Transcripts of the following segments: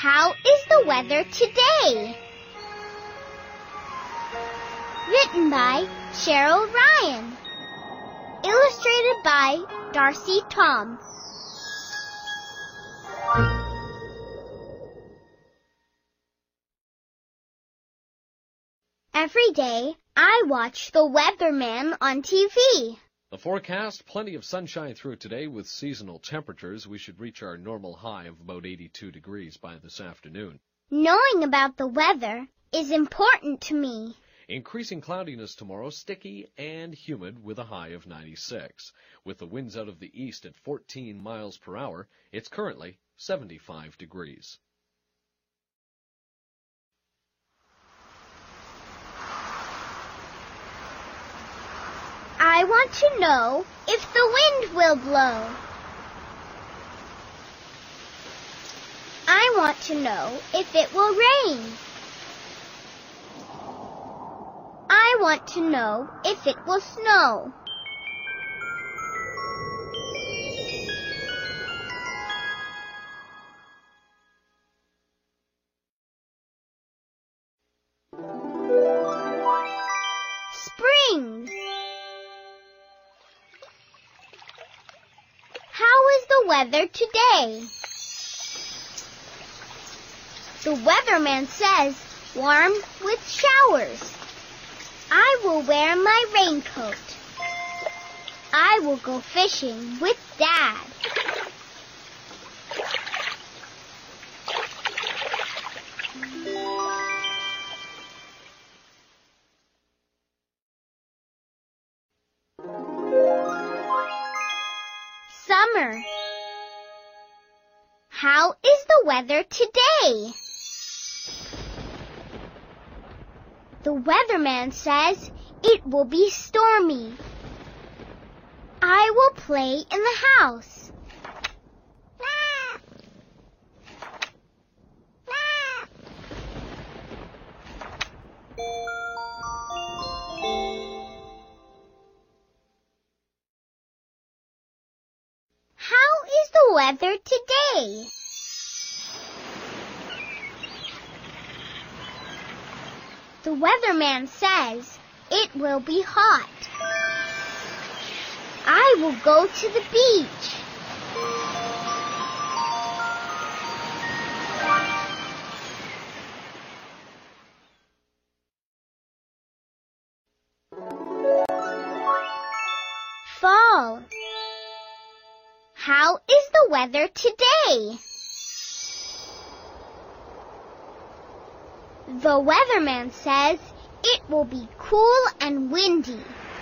How is the weather today? Written by Cheryl Ryan. Illustrated by Darcy Tom. Every day, I watch the weatherman on TV. The forecast, plenty of sunshine through today with seasonal temperatures. We should reach our normal high of about 82 degrees by this afternoon. Knowing about the weather is important to me. Increasing cloudiness tomorrow, sticky and humid with a high of 96. With the winds out of the east at 14 miles per hour, it's currently 75 degrees. I want to know if the wind will blow. I want to know if it will rain. I want to know if it will snow. Spring. How is the weather today? The weatherman says warm with showers. I will wear my raincoat. I will go fishing with Dad. Summer. How is the weather today? The weatherman says it will be stormy. I will play in the house. How is the weather today? The weatherman says it will be hot. I will go to the beach. Fall. How is the weather today? The weatherman says it will be cool and windy.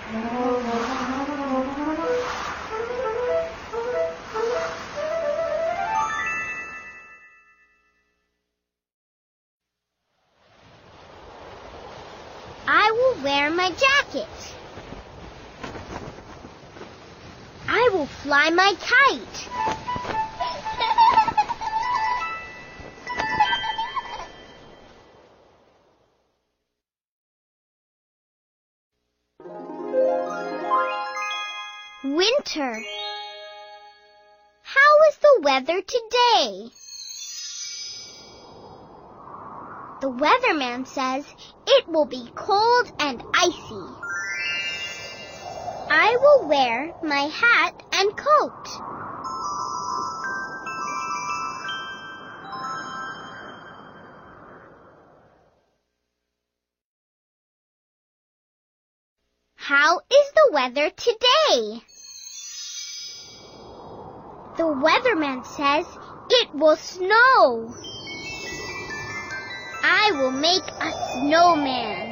I will wear my jacket. I will fly my kite. Winter. How is the weather today? The weatherman says it will be cold and icy. I will wear my hat and coat. How is the weather today? The weatherman says it will snow. I will make a snowman.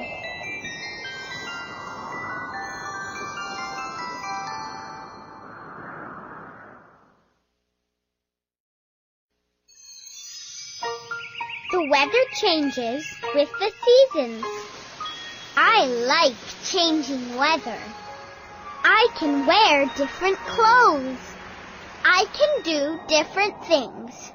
The weather changes with the seasons. I like changing weather. I can wear different clothes. I can do different things.